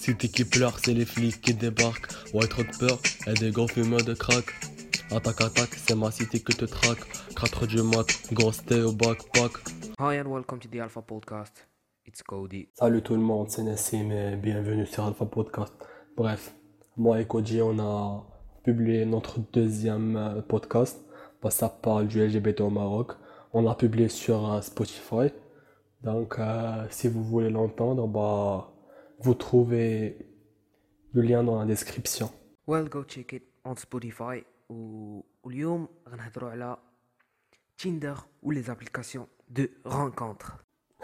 Cité qui pleure, c'est les flics qui débarquent. Ouais, trop de peur, et des gros fumeurs de crack. Attaque, c'est ma cité que te traque. 4 du mat, gros stay au backpack. Hi and welcome to the Alpha Podcast. It's Cody. Salut tout le monde, c'est Nassim et bienvenue sur Alpha Podcast. Bref, moi et Koji, on a publié notre deuxième podcast. Bah, ça parle du LGBT au Maroc. On l'a publié sur Spotify. Donc, si vous voulez l'entendre, bah, vous trouvez le lien dans la description. Well, go check it on Spotify. واليوم غنهضروا على Tinder ou les applications de rencontres.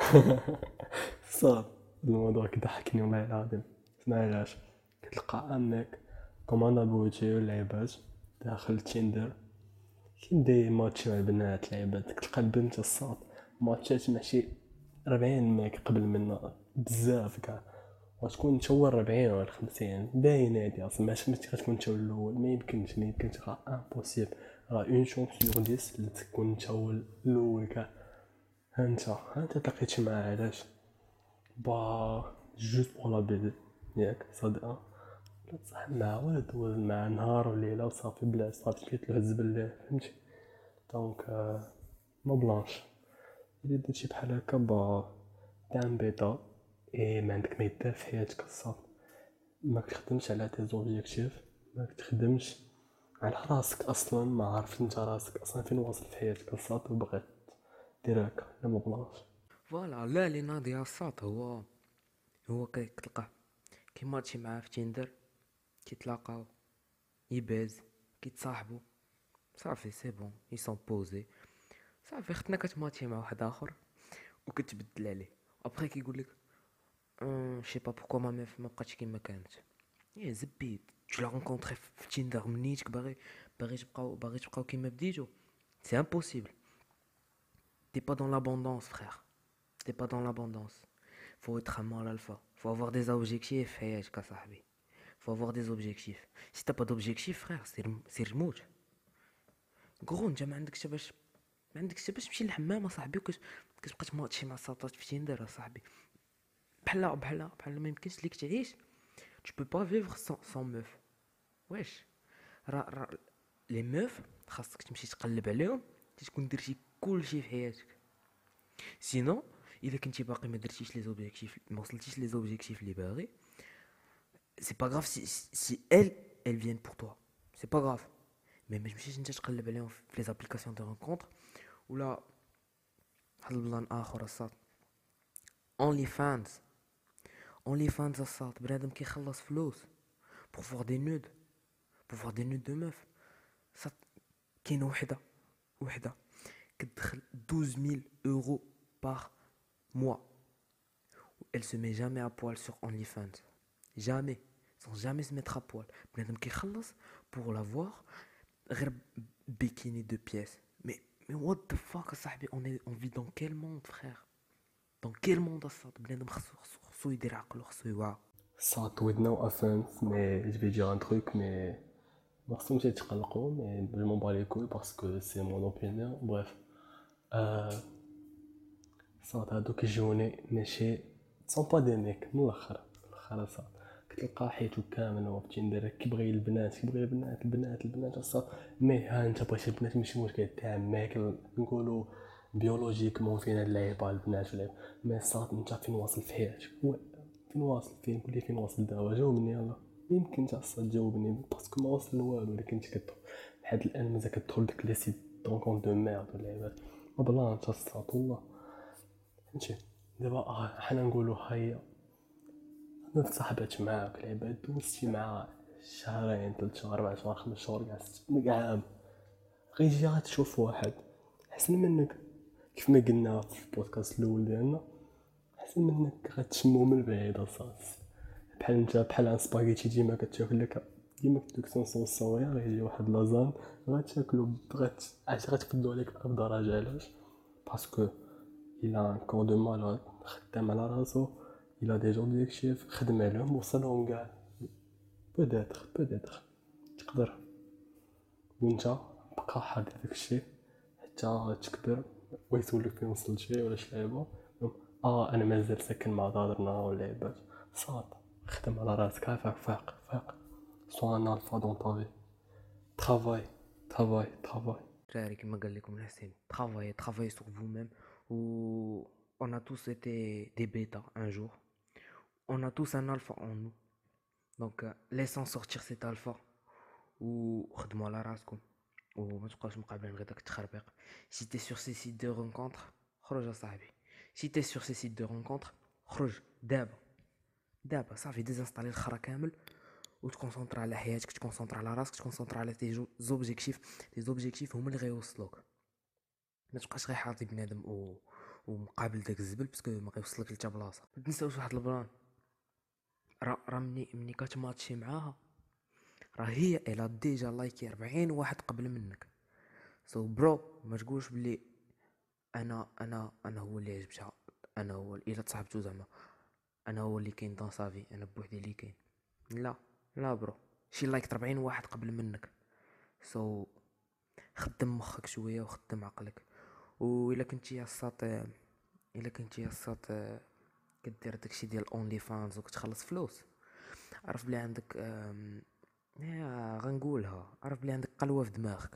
صار الموضوع كضحكني والله العظيم. اسمع علاش كتلقى انك كوماندا بوتي واللعيبات داخل تيندر كيبدا ماتشي مع البنات لعيبات كتلقى البنت الصاد ماتشات مع شي 40 ماك قبل منا بزاف كاع وتكون انت هو 40 ولا 50 باين هادي اصلا ما غتكون انت الاول ما يمكنش راه امبوسيبل راه اون شونس سور 10 اللي تكون انت هو الاول كاع انت تلاقيتي معاه علاش با جوست بور لا بيدي ياك صدقه لا تصاحب مع والد مع نهار وليله وصافي بلا صافي كيتلو الزبل فهمتي دونك نو بلانش الا درتي بحال هكا با دام بيضا اي ما عندك ما يدار في حياتك الصافي ما كتخدمش على تي زوبجيكتيف ما كتخدمش على راسك اصلا ما عارف انت راسك اصلا فين واصل في حياتك الصافي وبغيت دير هكا لا ما بلانش فوالا لا اللي ناضي الصاط هو كتلقاه كيماتشي معاه في تيندر كيتلاقاو يباز كيتصاحبوا صافي سي بون اي سون بوزي صافي ختنا كتماتشي مع واحد اخر وكتبدل عليه ابخي كيقول لك je sais pas pourquoi ma meuf ما بقاتش كيما كانت يا زبيد tu l'as rencontré في تيندر منيتك باغي تبقاو كيما بديتو c'est impossible t'es pas dans l'abondance frère t'es pas dans l'abondance faut être un mâle alpha faut avoir des objectifs حياتك صاحبي faut avoir des objectifs si t'as pas d'objectif frère c'est رموت غرو انت ما عندكش باش تمشي للحمام صاحبي كتبقى تماتشي مع ساطات في تيندر صاحبي بحال ما يمكنش ليك تعيش tu peux pas vivre sans meuf واش را لي ميف خاصك تمشي تقلب عليهم تكون درتي كلشي في حياتك سينو الا كنتي باقي ما درتيش لي زوبجيكتيف ما وصلتيش لي زوبجيكتيف اللي باغي سي با غراف si elles viennent pour toi c'est pas grave mais ما تمشيش انت تقلب عليهم في لي زابليكاسيون دو رونكونتر ولا واحد البلان اخر الصاد اونلي فانز الصاد بنادم كيخلص فلوس pour voir des nudes de meuf صاد كاينه وحده كتدخل 12000 euros par mois elle se met jamais à poil sur OnlyFans jamais sans jamais se mettre à poil بنادم كيخلص pour la voir غير bikini de pièces mais what the fuck صاحبي on vit dans quel monde frère dans quel monde الصاد بنادم خصو يدير عقلو خصو يوعى Ça, with no offense, mais je vais dire un truc, mais merci de t'expliquer, mais je m'en bats les couilles parce que c'est mon opinion. Bref, ça, t'as deux journées, mais sont pas des mecs, من الآخر ça. كتلقى حياتو كامل هو في تيندر كيبغي البنات الصاد مي ها انت بغيتي البنات ماشي مشكل تاع ماك نقولوا بيولوجيكمون فين هاد اللعيبه البنات ولا مي الصاد انت فين واصل في حياتك فين قول لي فين واصل دابا جاوبني يلا يمكن تاع الصاد جاوبني باسكو ما وصل لوالو اللي كنت كتدخل لحد الان مازال كتدخل داك لي سيت دونكون دو ميرد ولا لعيبات ما بلا تاع الصاد والله فهمتي دابا حنا نقولوا هيا انا تصاحبت معاك العباد دوزتي مع شهرين 3 شهور 4 شهور 5 شهور كاع عام غيجي غتشوف واحد احسن منك كيف ما قلنا في البودكاست الاول ديالنا احسن منك غتشمو من بعيد اصاص بحال انت بحال سباغيتي ديما كتاكل لك ديما كدوك سونسون صويا غيجي واحد لازان غتاكلو غتفدو عليك بأب درجه علاش باسكو il a un corps de malade خدام على راسو il a des objectifs خدم عليهم وصلهم كاع بوديتر تقدر وانت بقى حاضر داكشي حتى تكبر ويسولك فين وصلتي ولا شي لعيبه انا مازال ساكن مع دارنا ولا لعيبات صاد خدم على راسك عافاك فاق sois un alpha dans ta vie travaille دراري كما قال لكم الحسين travaillez sur vous-même ou on a tous été des bêtas un jour, on a tous un alpha en nous, donc laissons sortir cet alpha وخدموا على راسكم وما تبقاوش مقابلين غير داك التخربيق. si t'es sur ces sites de rencontres خرج يا صاحبي, si t'es sur ces sites de rencontres خرج دابا صافي ديزانستالي الخرا كامل وتكونسونطر على حياتك, تكونسونطر على راسك, تكونسونطر على تي زوبجيكتيف هما اللي غيوصلوك. ما تبقاش غير حاطي بنادم ومقابل داك الزبل باسكو ما غيوصلك لتا بلاصه. ما تنساوش واحد البلان, راه مني كتماتشي معاها راه هي الا ديجا لايكي 40 واحد قبل منك, سو برو ما تقولش بلي انا هو اللي عجبتها, انا هو الا تصاحبتو زعما انا هو اللي كاين دون صافي, انا بوحدي اللي كاين. لا برو, شي لايك 40 واحد قبل منك, سو خدم مخك شويه وخدم عقلك. والا كنتي يا الساط كدير داكشي ديال اونلي فانز وكتخلص فلوس, عرف بلي عندك غنقولها, عرف بلي عندك قلوه في دماغك.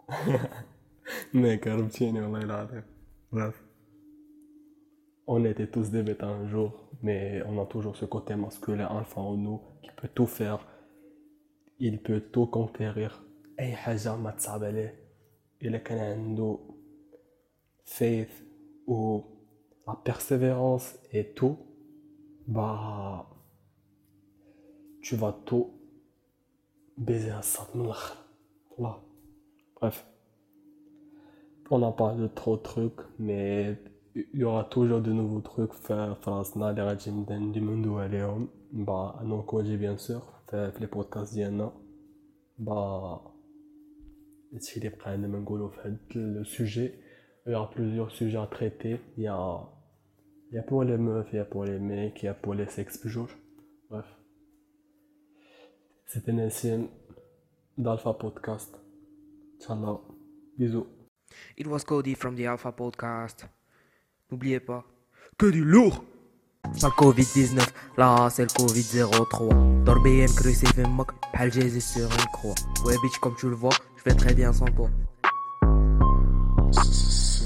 ميك عرفتيني والله العظيم. Bref, on était tous des bêtes un jour, mais on a toujours ce côté masculin alpha en nous qui peut tout faire, il peut tout conquérir. اي حاجه ما تصعب عليه الا كان عنده faith ou la persévérance et tout, bah tu vas tout baiser un sac من الاخر. Voilà. Bref, on a parlé de trop de trucs, mais il y aura toujours de nouveaux trucs في راسنا اللي غادي ندويو عليهم با انا وكوجي بيان سور في لي بودكاست ديالنا. با هادشي اللي بقى عندنا نقولوا في هاد لو سوجي. Il y aura plusieurs sujets à traiter. Il y a pour les meufs, il y a pour les mecs, il y a pour les sexes toujours. Bref. C'était Nassim d'Alpha Podcast. Inch'Allah. Bisous. It was Cody from the Alpha Podcast. N'oubliez pas que du lourd. La Covid-19, là c'est le Covid-03. Dors bien crucé fait moque, bhal Jésus sur une croix. Ouais bitch comme tu le vois, je vais très bien sans toi.